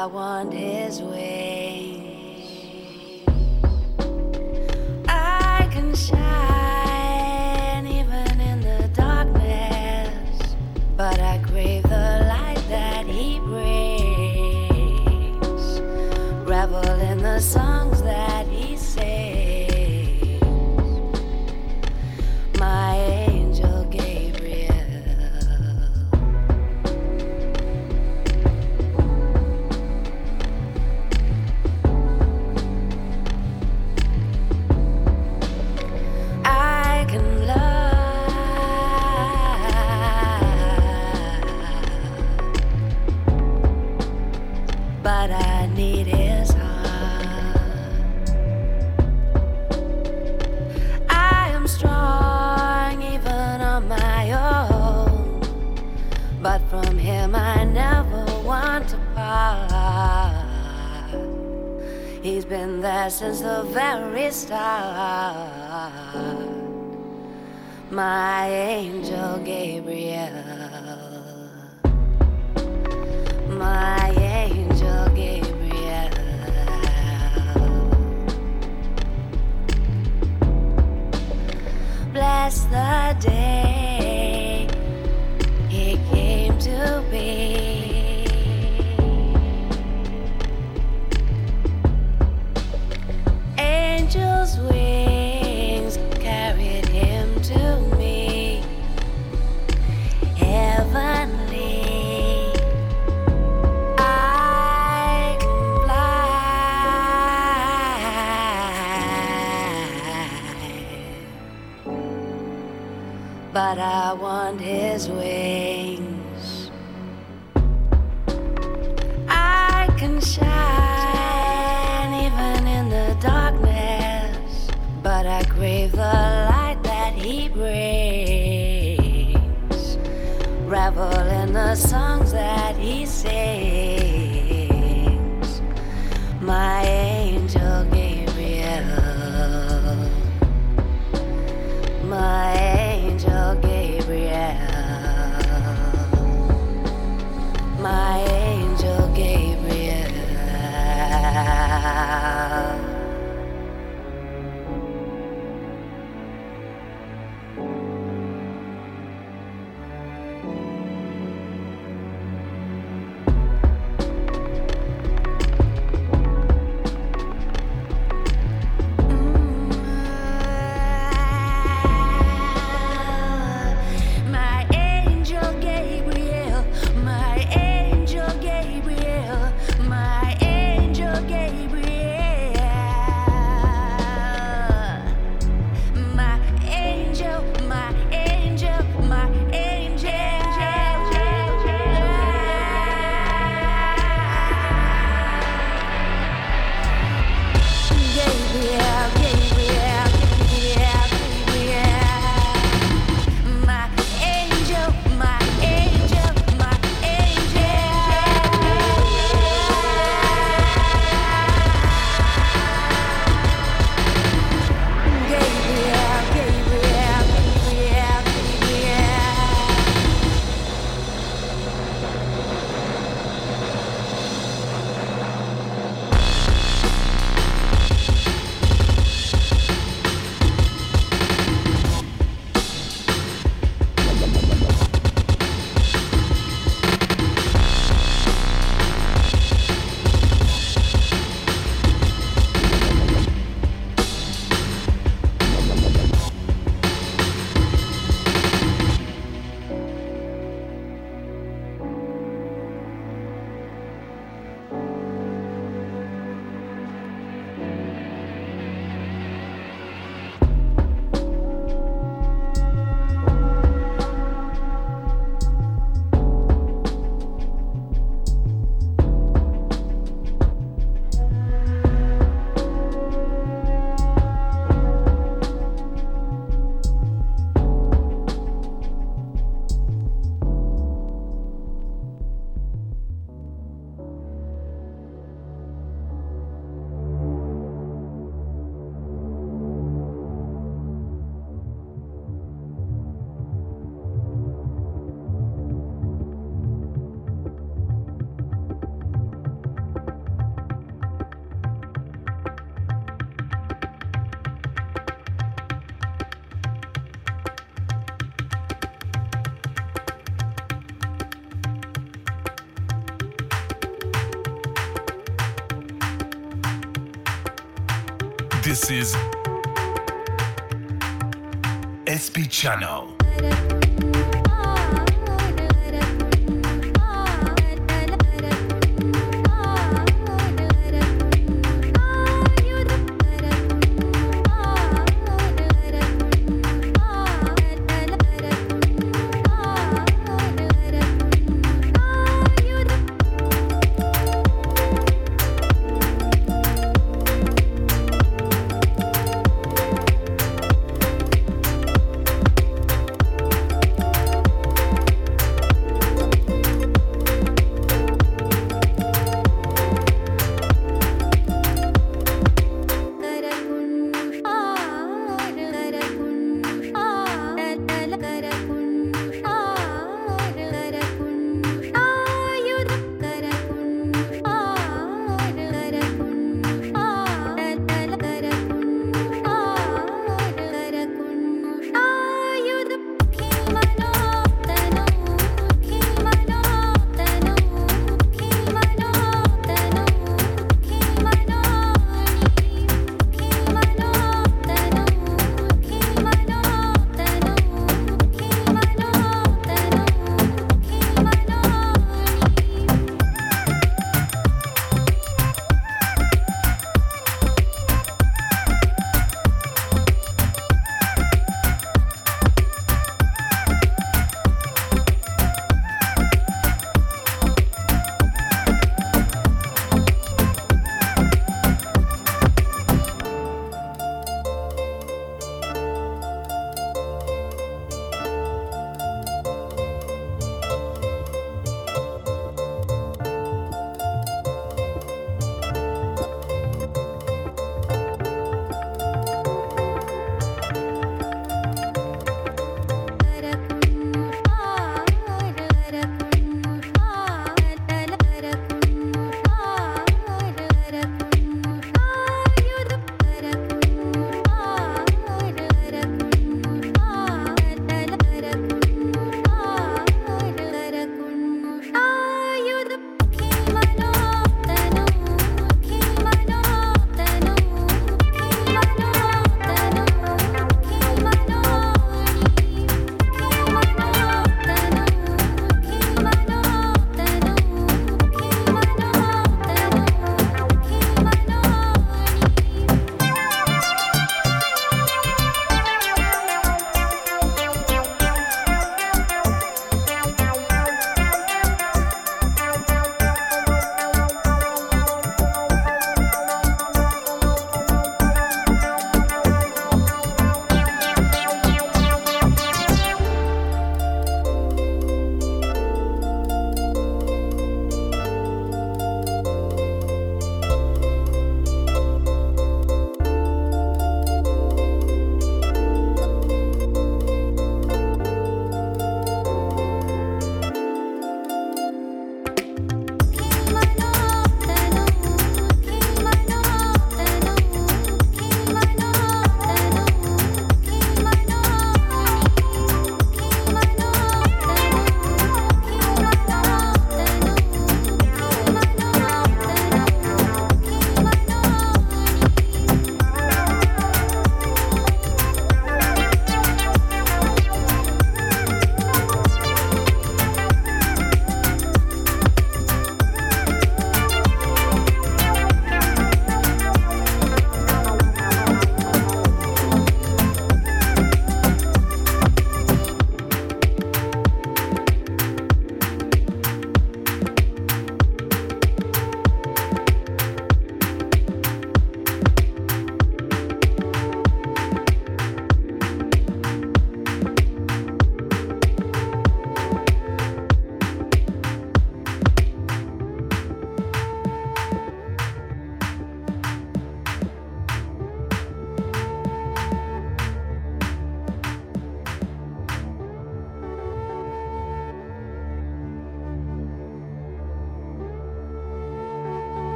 I want his wings. I can shine even in the darkness, but I crave the light that he brings. Revel in the songs that he sings. My angel Gabriel. I can love, but I need his heart. I am strong even on my own, but from him I never want to part. He's been there since the very start. My angel Gabriel. My angel Gabriel. Bless the day he came to be. Angels' wings carried him to me. Heavenly, I can fly, but I want his wings. I can shine even in the darkness, but I crave the light that he brings. Revel in the songs that he sings. My angel Gabriel. My angel Gabriel. My angel Gabriel. This is SP Channel.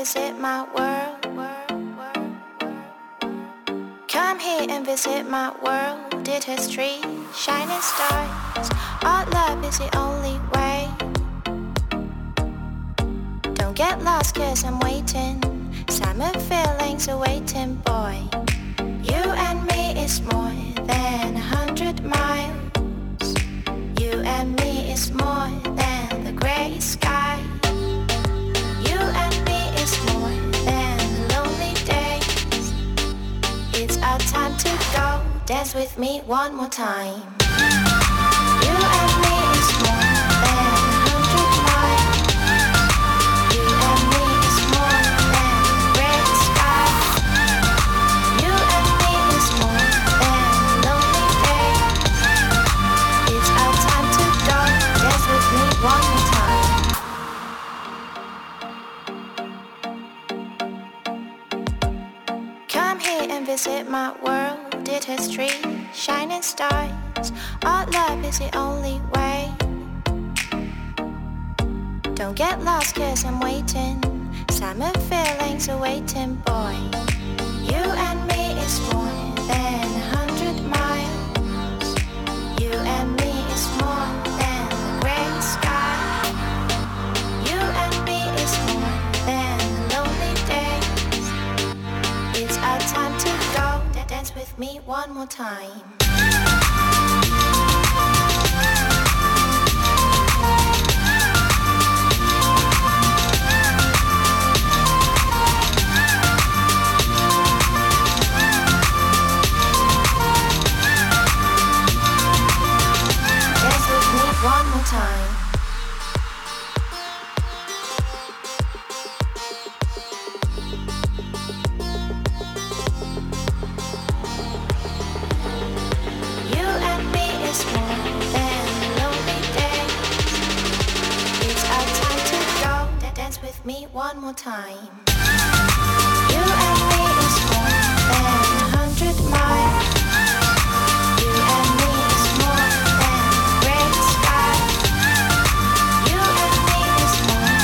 visit my world. Come here and visit my world. Did history, shining stars. Our love is the only way. Don't get lost cause I'm waiting. Summer feelings are waiting, boy. You and me is more than 100 miles. You and me is more than the gray sky. You and me is more than lonely days. It's our time to go. Dance with me one more time. You and me is more than 100 miles. You and me is more than gray sky. You and me is more than lonely days. It's our time to go. Dance with me one more time. Come here and visit my world. Did history, shining stars. Our love is the only way. Don't get lost cause I'm waiting. Summer feelings are waiting, boy. You and me is more than 100 miles. You and me is more than the gray sky. You and me is more than lonely days. It's our time to go. Dance with me one more time. Dance with me one more time. You and me is more than lonely days. It's our time to go. Dance with me one more time. You and me is more than 100 miles. You and me is more than gray sky. You and me is more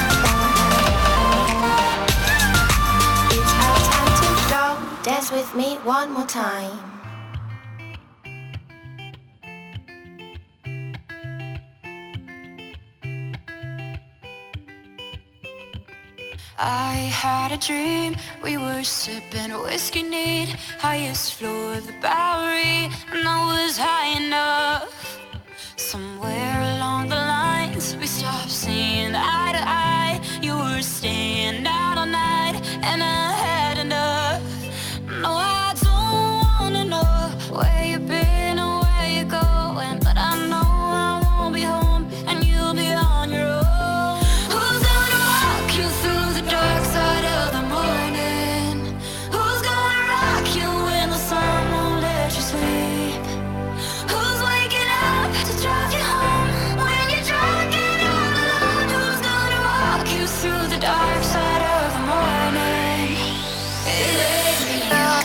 than. It's our time to go. Dance with me one more time. I had a dream, we were sipping whiskey neat, highest floor of the Bowery, and I was high enough. Somewhere along the lines, we stopped seeing eye to eye. You were staying out all night, and I had enough. No, I don't wanna know where you've been or where you're going, but I know I won't be home, and you'll be on your own. Who's gonna walk you through the dark side of the morning? Who's gonna rock you when the sun won't let you sleep? Who's waking up to drive you home when you're drunk and all alone? Who's gonna walk you through the dark side of the morning? It ain't me.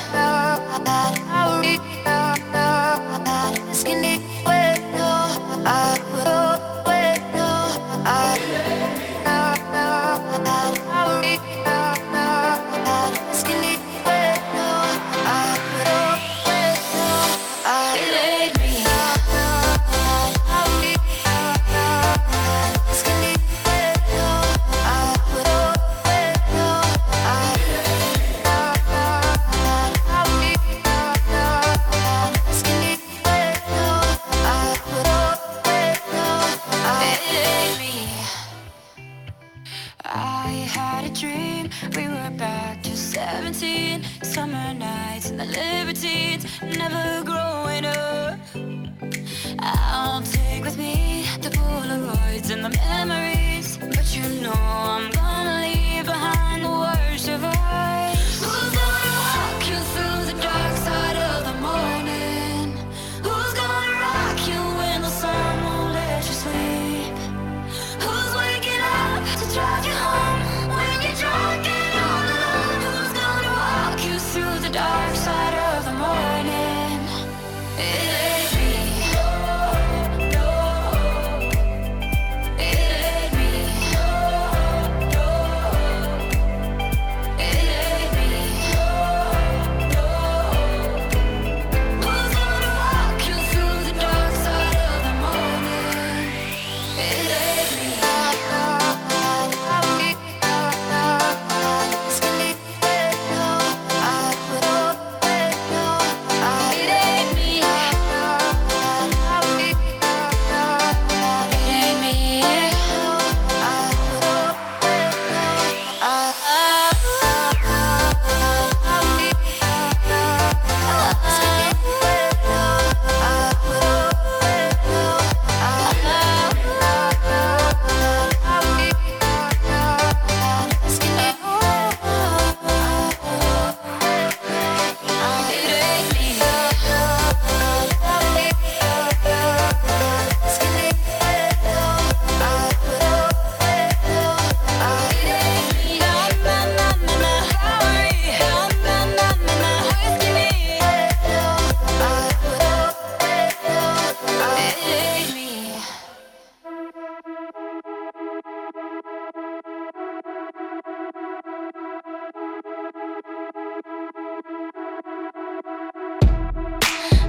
I had a dream, we were back to 17. Summer nights and the libertines, never growing up. I'll take with me the Polaroids and the memories, but you know I'm gonna leave behind the worst of us. Who's gonna walk you through the dark side of the morning? Who's gonna rock you when the sun won't let you sleep? Who's waking up to drive you home when you're drunk and all alone? Who's gonna walk you through the dark side of the morning? It ain't me. No, no. It ain't me. No, no.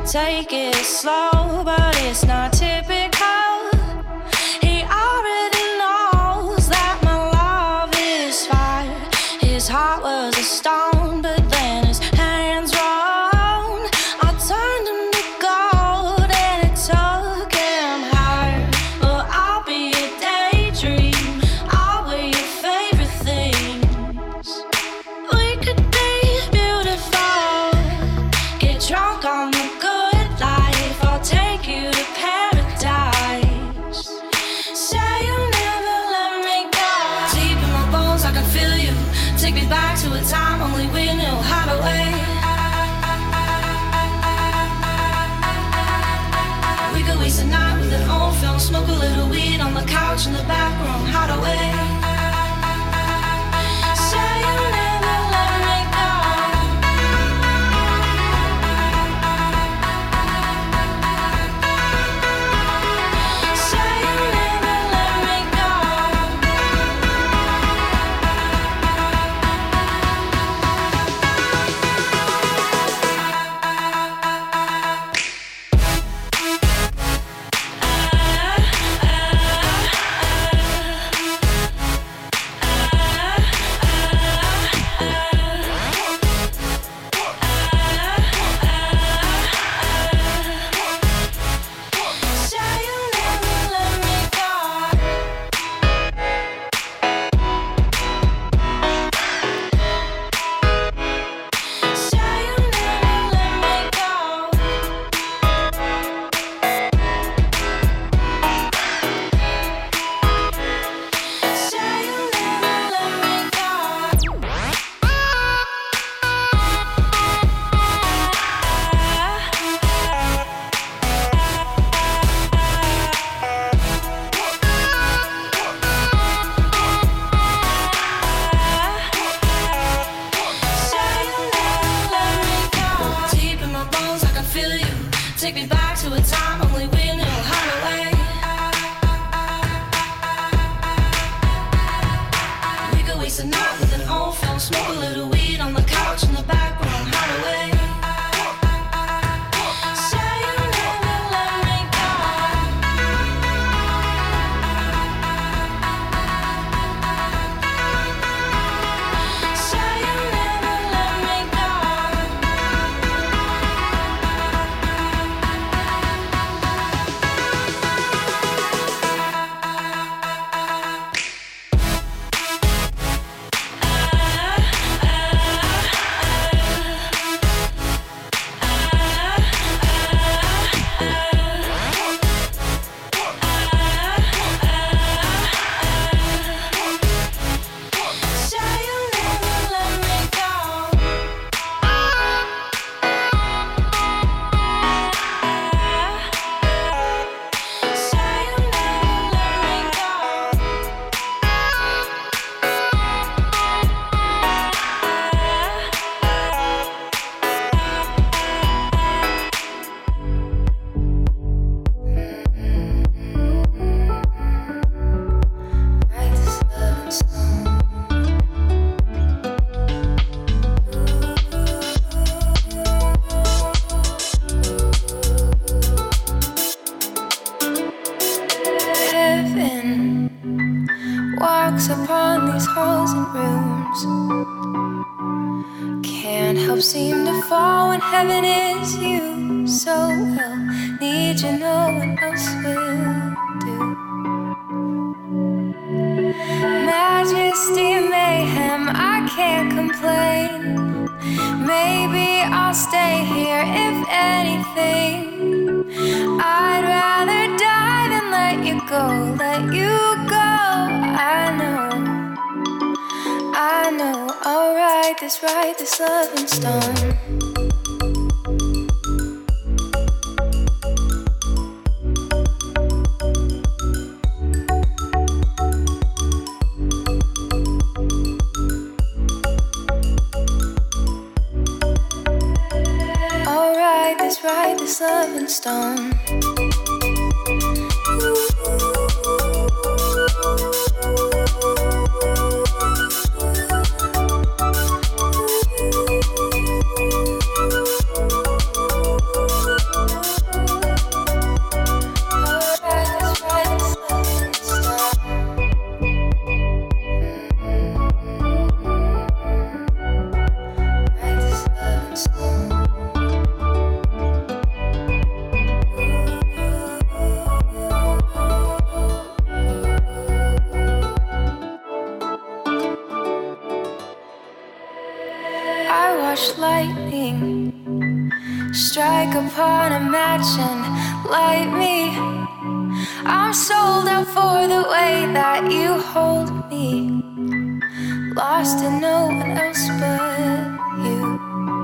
Take it slow, but it's not typical. He already knows that my love is fire. His heart was a stone, but then his hands rolled. I turned him to gold and it took him higher. Well, I'll be a daydream, I'll wear your favorite things. We could be beautiful, get drunk on the good life. I'll take you to paradise. Say you'll never let me go. Deep in my bones I can feel you. Take me back to a time only we knew how to wait. We could waste a night with an old film, smoke a little weed on the couch in the back room. How to wait. Say you'll never let me go. Say you'll never let me go. Say you'll never let me go. Say you'll never let me go. Say you'll never let me go. Say you'll never let me go. Deep in my bones, I can feel you. Take me back to a time only we knew how to wait. We could waste a night with an old film, smoke a little weed on the couch in the back room. How to wait. Say you'll never let me go. Say you'll never let me go. Say you'll never let me go. Say you'll never let me go. Write this love song. Heaven walks upon these halls and rooms. Can't help seem to fall when heaven is you. So well, need you, no one else will do. Majesty and mayhem, I can't complain. Maybe I'll stay here if anything. I'd rather die than let you go, let you go. I know, I'll write this love in stone. I'll write this love in stone. Strike upon a match and light me. I'm sold out for the way that you hold me. Lost in no one else but you.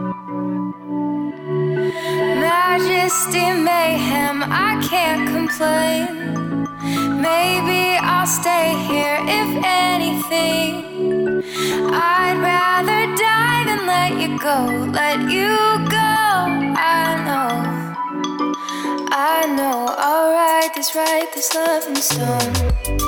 Majesty, mayhem, I can't complain. Maybe I'll stay here if anything. I'd rather die than let you go, let you go. I know, I'll write this love in stone.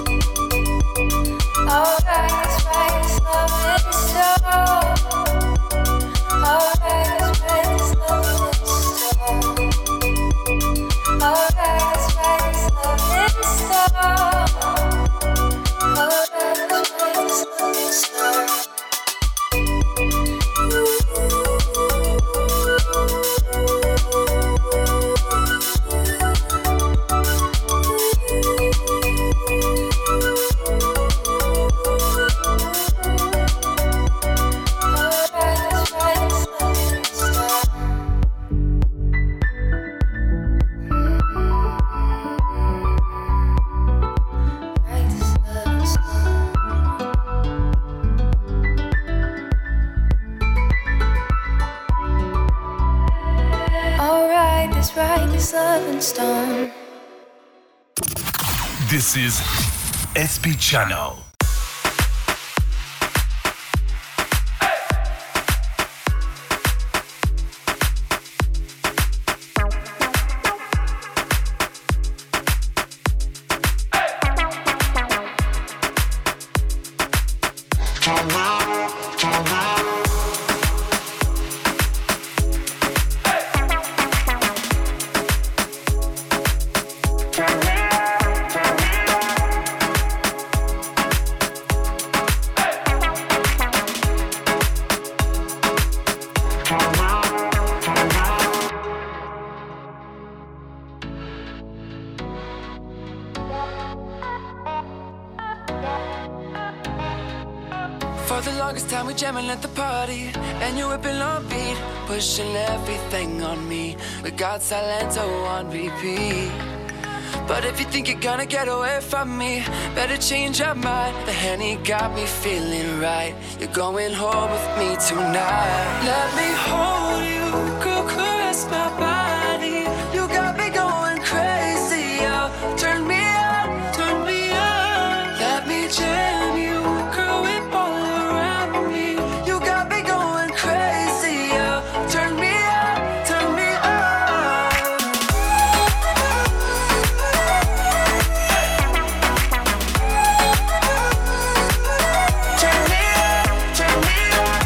I'll write this love in stone. I'll write this love in stone. I'll write this love in stone. I'll write this love in stone. Stone. This is SP Channel. Jamming at the party, and you're whipping on beat, pushing everything on me. We got Silento on repeat. But if you think you're gonna get away from me, better change your mind. The Henny got me feeling right. You're going home with me tonight. Let me hold you, girl, caress my body. You got me going crazy, oh. Turn me on, turn me on. Let me jam you, girl, whip all around me. You got me going crazy, oh. Turn me on, turn me on. Turn me on, turn me on.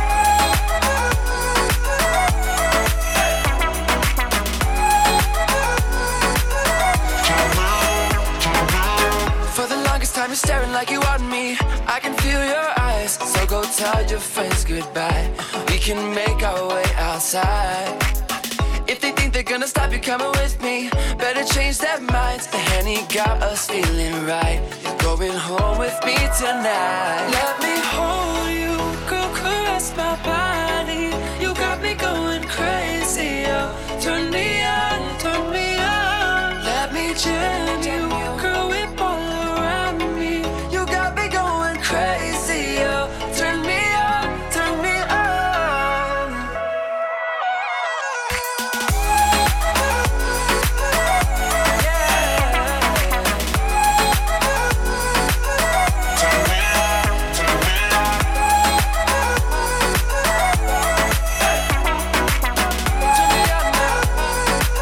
For the longest time you're staring like you want me. I can feel your eyes, so go tell your friends goodbye. We can make our way outside. If they think they're gonna stop you coming with me, better change their minds. The Henny got us feeling right. You're going home with me tonight. Let me hold you, girl, caress my body. You got me going crazy, oh. Turn me on, turn me on. Let me jam you, girl, whip all around me. You got me going crazy, oh. Turn me on, turn me on. Yeah. Turn me on, turn me on. Turn me on now.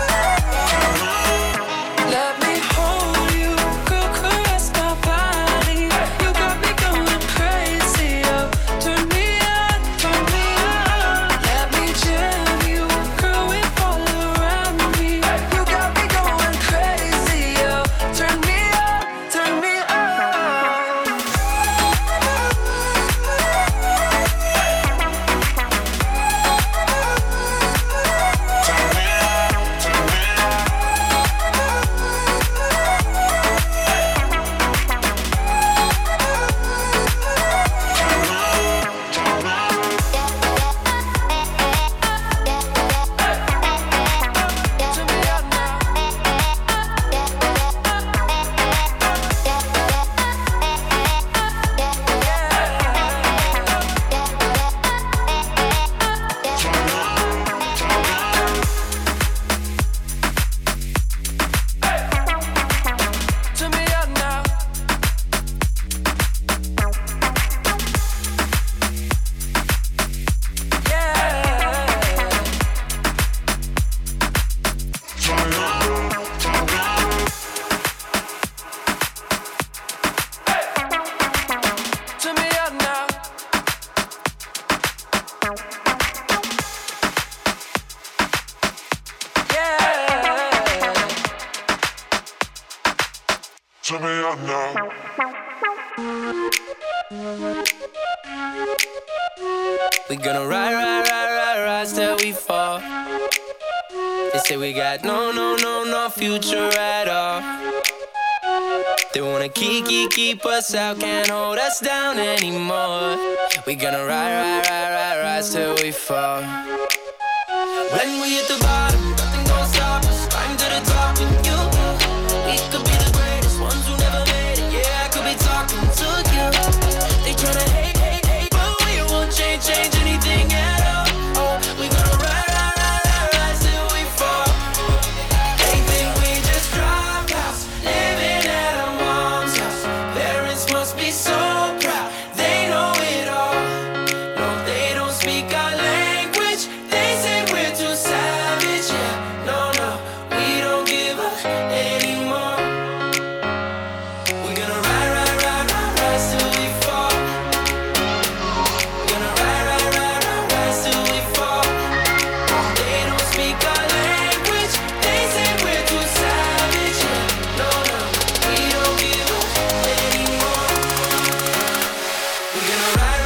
We gonna ride till we fall. They say we got no future at all. They wanna keep us out, can't hold us down anymore. We gonna ride till we fall. When we hit the bottom, nothing gonna stop us. Climb to the top with you. We could be the greatest ones who never made it. Yeah, I could be talking to you. They tryna hate, but we won't change anything at all. Oh, we gonna ride till we fall. They think we just drop house, living at our mom's house. Parents must be so proud, they know it all. No, they don't speak our language. They say we're too savage. Yeah, no, we don't give up anymore. We're gonna ride till we fall. We're gonna ride till we fall. They don't speak our language. They say we're too savage. Yeah, no, we don't give up anymore. We're gonna ride.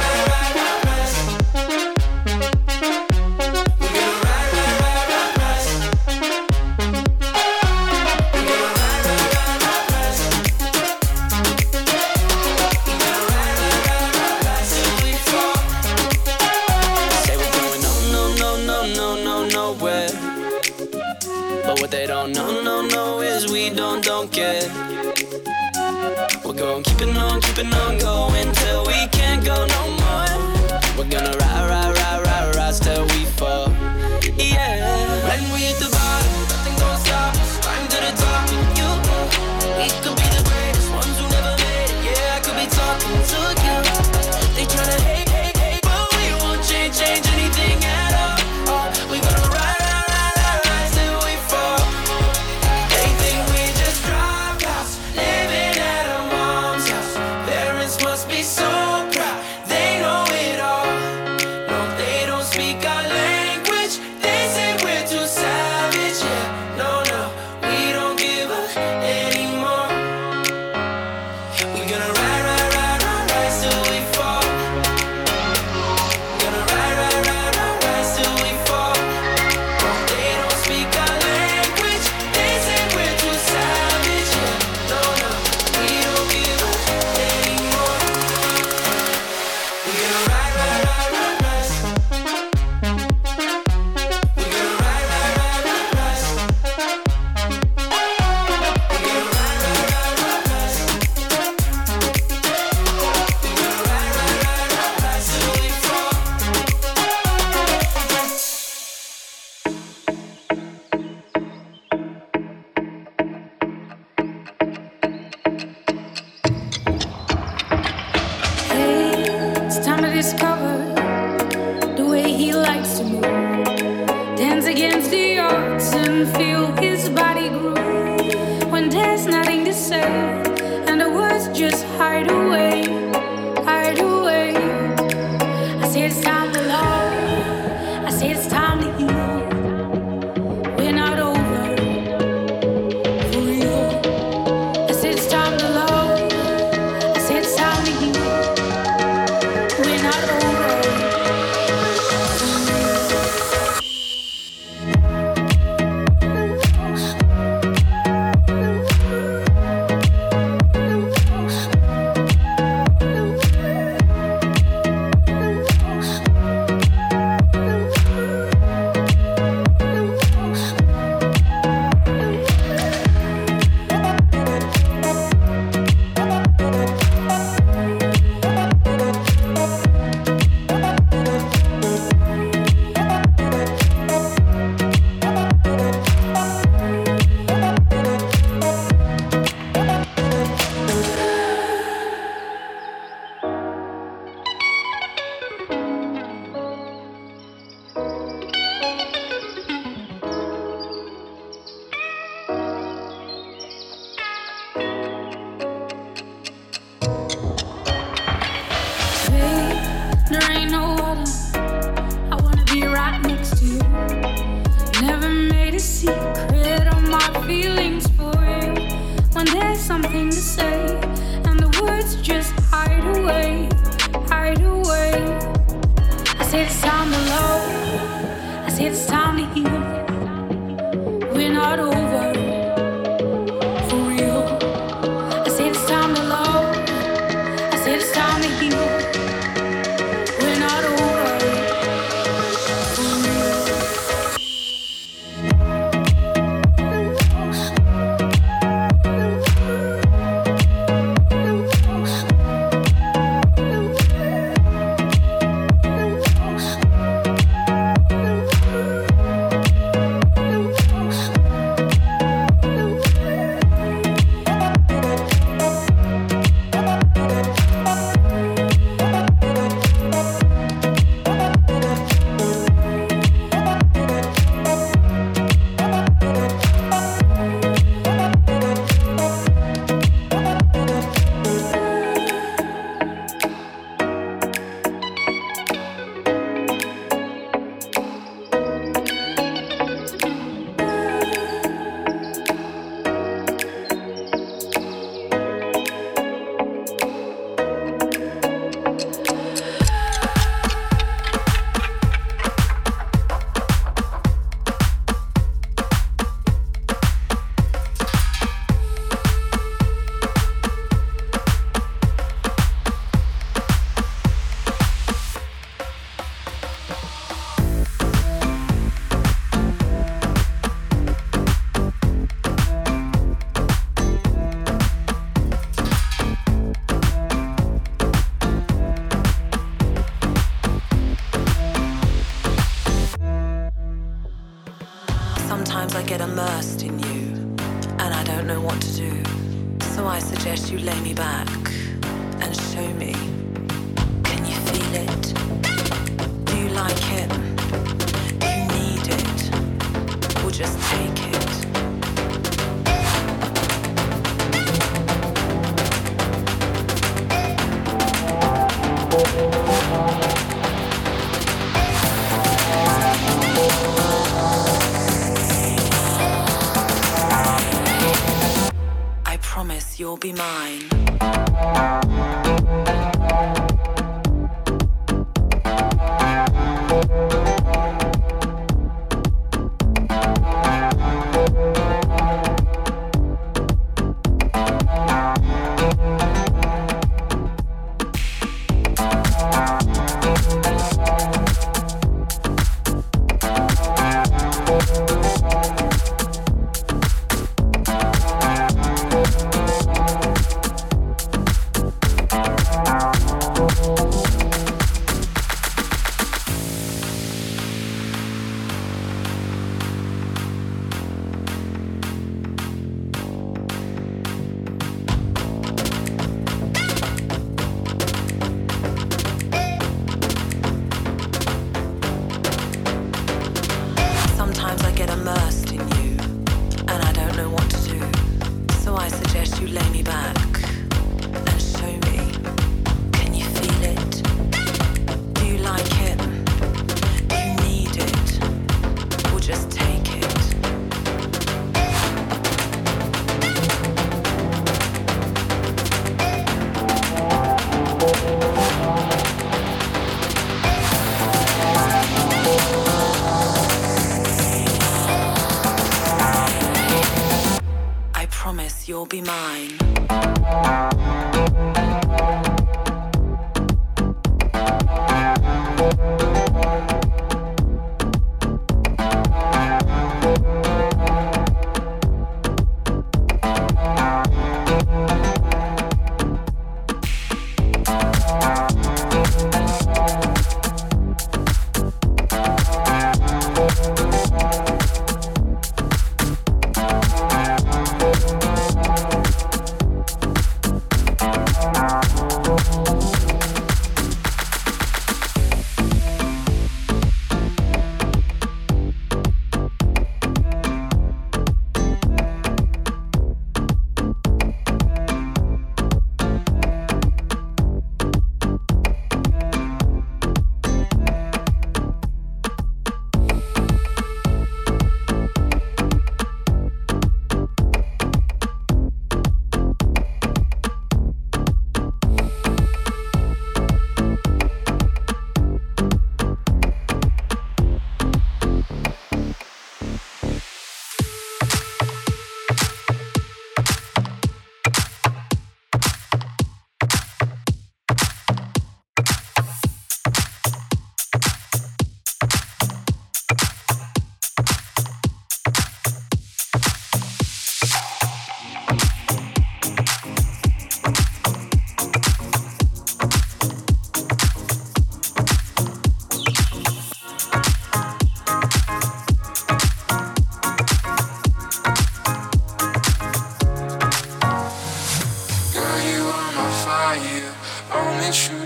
We're gonna ride. Say we're going nowhere. But what they don't know is we don't care. We're going keeping on going till we can't go no more. We're gonna ride till we fall. Yeah. When we hit the bottom, nothing gonna stop us. Climb to the top with you. We could be the greatest ones who never made it. Yeah, I could be talking to you. They tryna hate, but we won't change anything at all. Oh, we gonna ride till we fall. They think we just drop house, living at our mom's house. Parents must be so proud, they know it all. No, they don't speak our language. They say we're too savage. Yeah, no, we don't give up anymore. We're gonna ride till we fall. Gonna ride till we fall. They don't speak our language. They say we're too savage. Yeah, no, we don't give up anymore. We're gonna ride. We're gonna ride. Till we fall. It's time to discover the way he likes to move. Dance against the odds and feel his body groove. When there's nothing to say and the words just hide away, hide away. I say it's time to love. I say it's time to heal. We're not over for real. I say it's time to love. I say it's time to heal. We're not over. we're not over for real. I said it's time to love, I said it's time to heal. We're not over for real. Sometimes I get immersed in you, and I don't know what to do. So I suggest you lay me back and show me. Can you feel it? Do you like it? Do you need it? Or just take it? I promise you'll be mine. You'll be mine.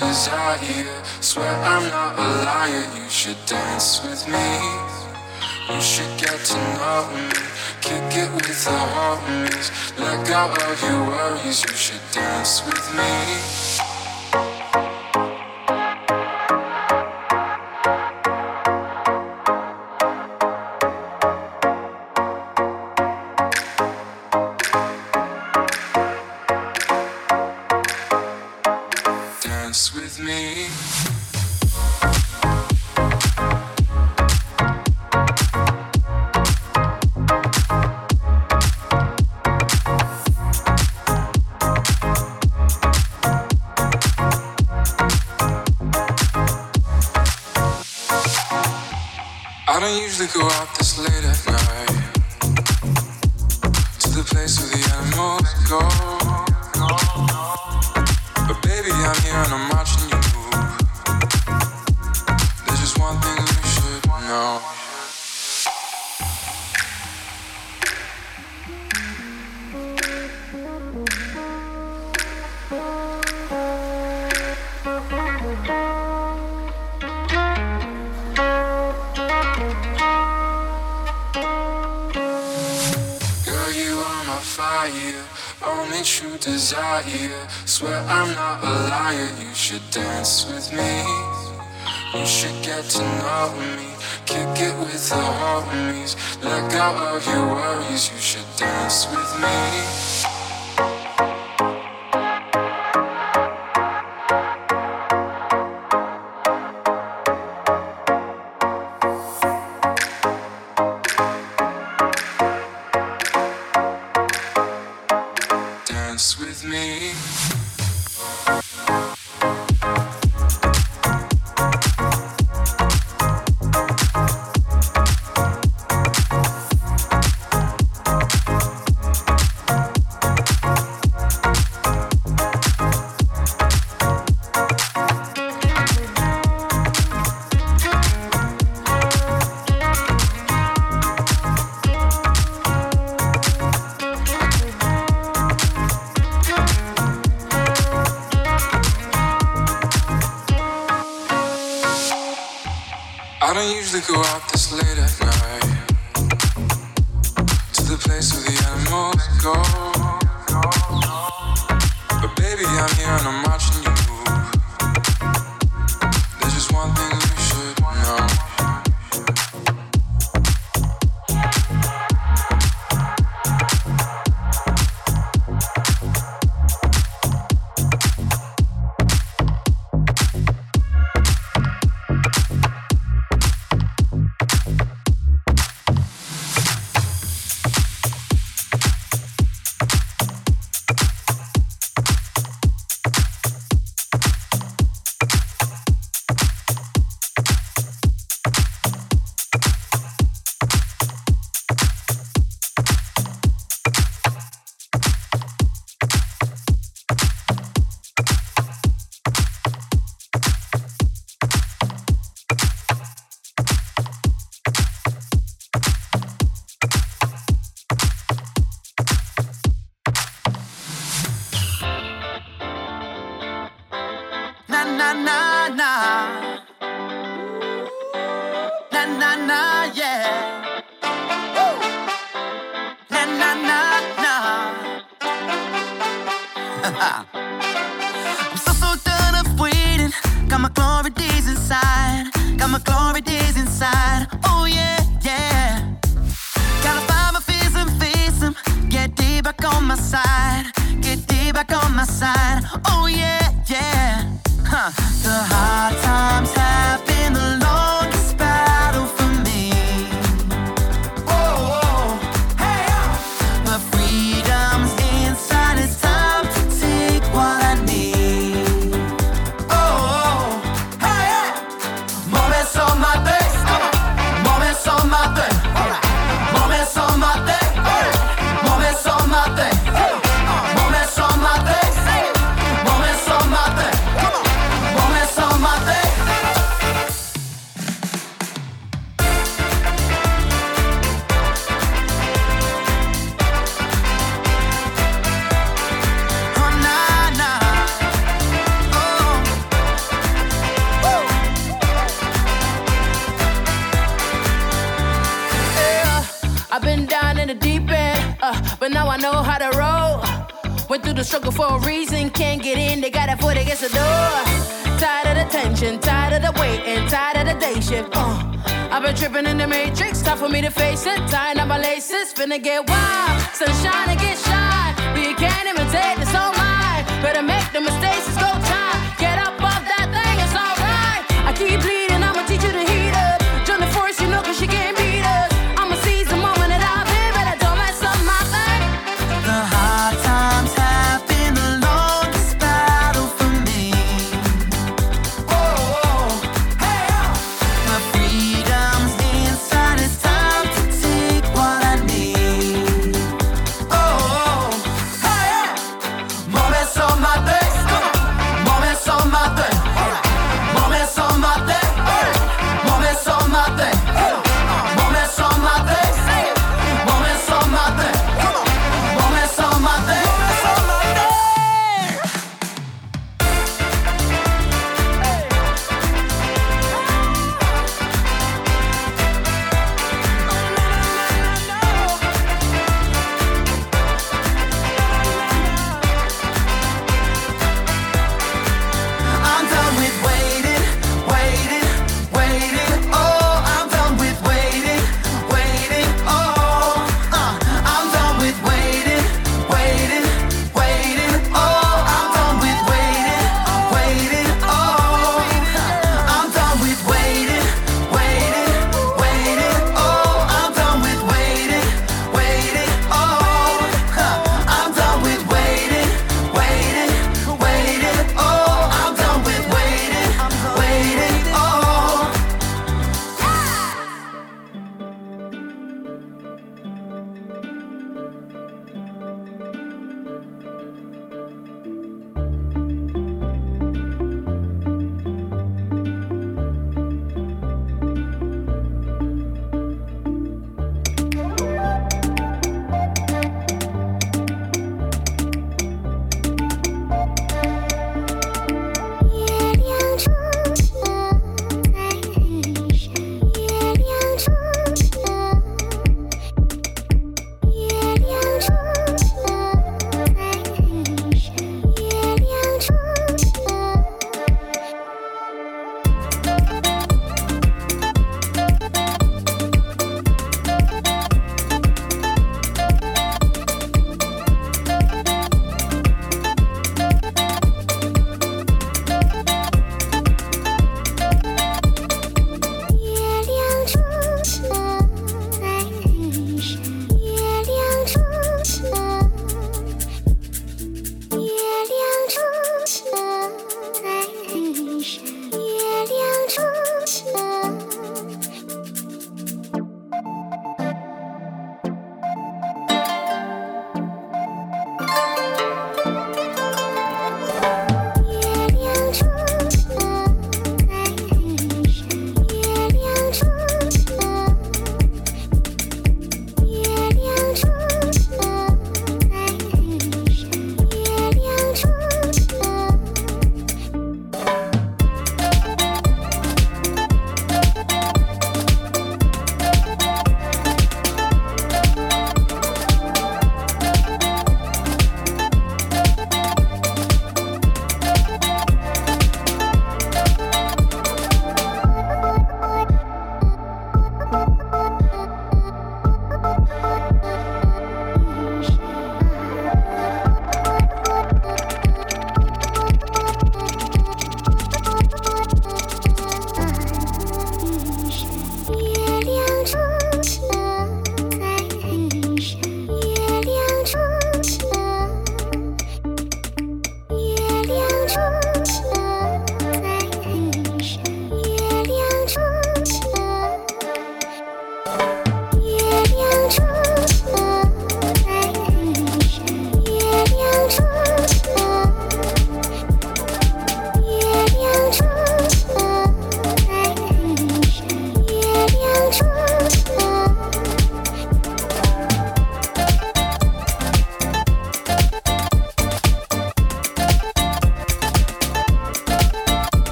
desire. Swear I'm not a liar. You should dance with me. You should get to know me. Kick it with the homies. Let go of your worries. You should dance with me. Dance with me. I don't usually go out this late at night to the place where the animals go. But baby, I'm here and I'm watching you move. There's just one thing you should know. Girl, you are my fire, only true desire. Swear I'm not a liar. You should dance with me. You should get to know me. Kick it with the homies. Let go of your worries. You should dance with me. Dance with me. I don't usually go out this late at night to the place where the animals go. But baby, I'm here and I'm watching you move. There's just one thing you should know. Na na na na, na na na, yeah. Woo. Na na na na. I'm so done of waiting. Got my glory days inside. Got my glory days inside. Oh yeah, yeah. Gotta find my fears and face them. Get deep back on my side. Get deep back on my side. Oh yeah, yeah. The hard times have been the longest battle for me. Oh, oh. Hey, but freedom's inside. It's time to take what I need. Oh, oh. Hey, moments on my days, moments on but now I know how to roll. Went through the struggle for a reason, can't get in, they got it before they get the door. Tired of the tension, tired of the waiting, tired of the day shift. I've been tripping in the matrix, time for me to face it. Tying up my laces, finna get wild. Sunshine and get shine, but you can't imitate this on mine. Better make the mistakes, it's go time. Get up off that thing, it's alright. I keep bleeding, I'ma teach you to heat up. Join the force, you know, cause you can't beat us. I'ma seize the moment that I've been, but I don't mess up my thing. The hard times have been the longest battle for me. My freedom's inside, it's time to take what I need. More best on my face, more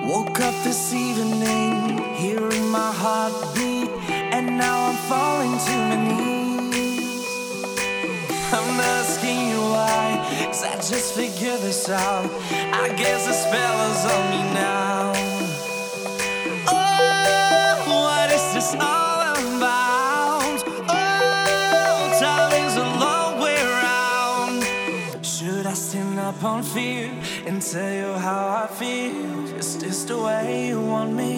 Woke up this evening, hearing my heartbeat, and now I'm falling to my knees. I'm asking you why, 'cause I just figured this out. I guess the spell is on me now. Oh, what is this all about? Oh, time is a long way around. Should I stand up on fear and tell you how I feel? Is this the way you want me?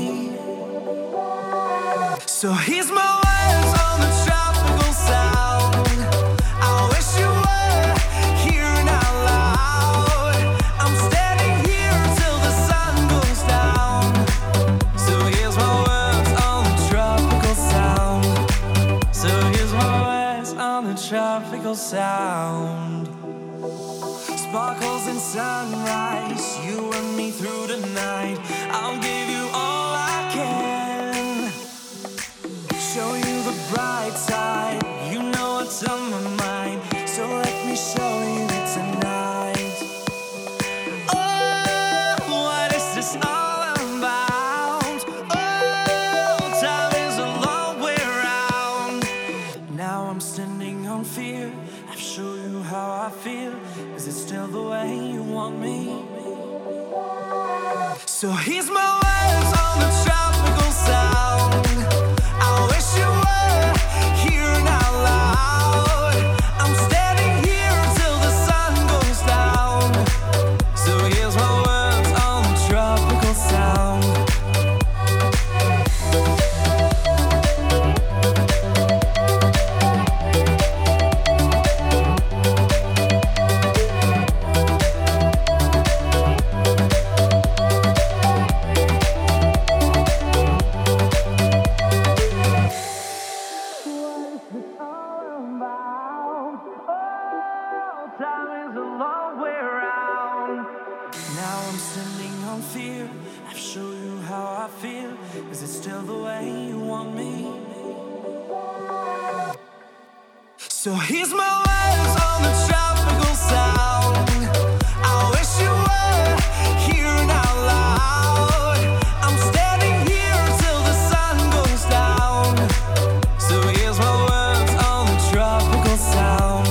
So here's my words on the tropical sound. I wish you were here out loud. I'm standing here till the sun goes down. So here's my words on the tropical sound. So here's my words on the tropical sound. Sparkles and sunrise, you and me through the night. I'll give you all I can. Show you the bright side. You know what's on my mind. So let me show you tonight. Oh, what is this all about? Oh, time is a long way around. Now I'm standing on fear. I've shown you how I feel. Is it still the way you want me? So here's my words on the tropical sound. I wish you were here out loud. I'm standing here till the sun goes down. So here's my words on the tropical sound. So here's my words on the tropical sound. I wish you were here out loud. I'm standing here till the sun goes down. So here's my words on the tropical sound.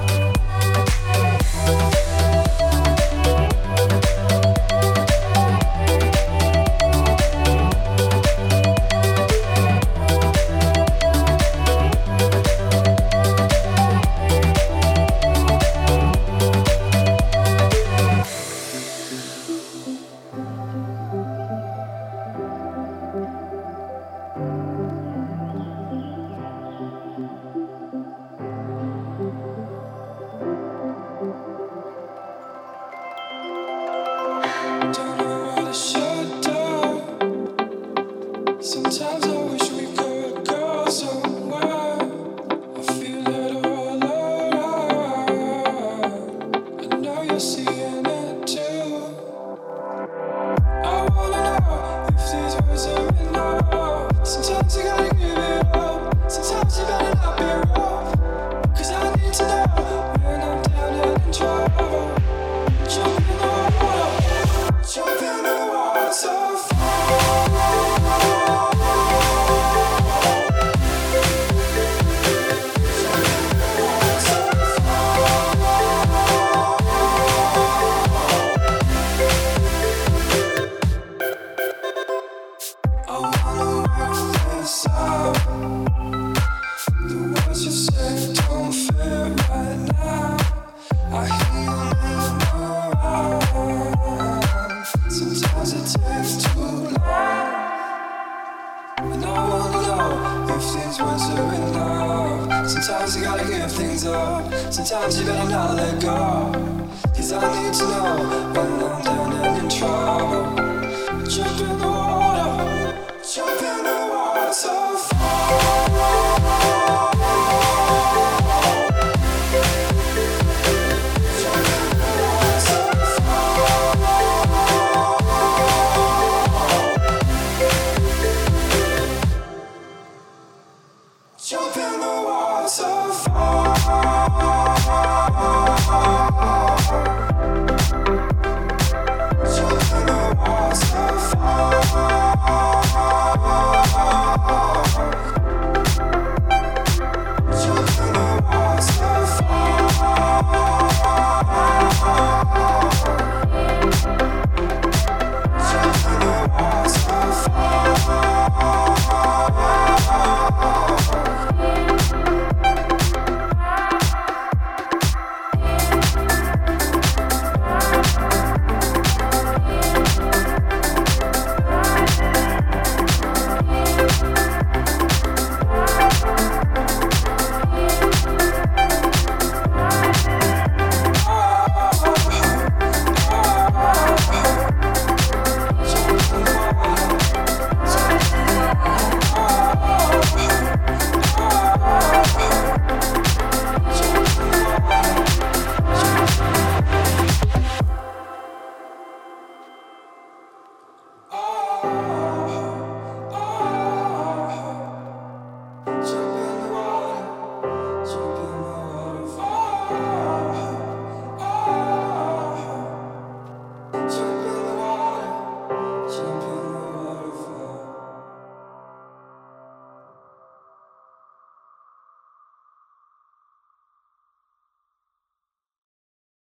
Sometimes you gotta give things up. Sometimes you better not let go. 'Cause I need to know when I'm down and in trouble.